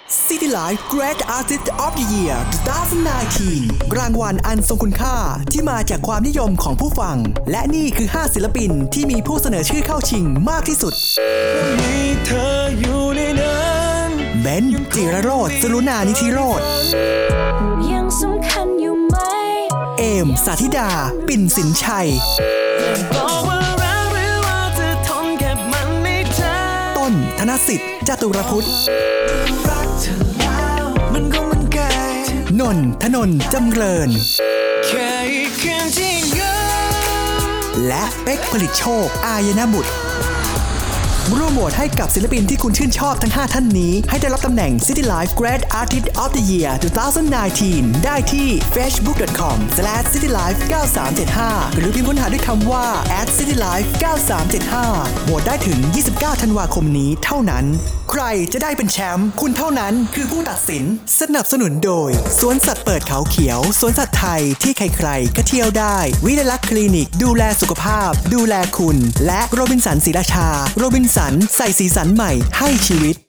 City Life Great Artist of the Year 2019 รางวัลอันทรงคุณค่าที่มาจากความนิยมของผู้ฟังและนี่คือ 5 ศิลปินที่มีผู้เสนอชื่อเข้าชิงมากที่สุดมีเธออยู่ในนั้นเบนซ์ จิรโรจน์ สรุณานิธิโรจน์ยังสำคัญอยู่ไหมเอม สาธิดา ปิ่นสินชัยบอกว่ารักหรือว่าจะทนเก็บมันในใจต้น ธนสิทธิ์ จตุรพุทธรักเธอแล้วมันคงมันไกลนนท์ ธนนท์ จำเริญแค่อีกคืนที่เหงาและเป๊กผลิตโชค อายนบุตรร่วมโหวตให้กับศิลปินที่คุณชื่นชอบทั้ง 5 ท่านนี้ให้ได้รับตำแหน่ง City Life Great Artist of the Year 2019 ได้ที่ facebook.com/citylife9375 หรือพิมพ์ค้นหาด้วยคำว่า @citylife9375 โหวตได้ถึง 29 ธันวาคมนี้เท่านั้นใครจะได้เป็นแชมป์คุณเท่านั้นคือผู้ตัดสินสนับสนุนโดยสวนสัตว์เปิดเขาเขียวสวนสัตว์ไทยที่ใครๆก็เที่ยวได้วิไลลักษณ์คลินิกดูแลสุขภาพดูแลคุณและโรบินสันศรีราชาโรบินสันใส่สีสันใหม่ให้ชีวิต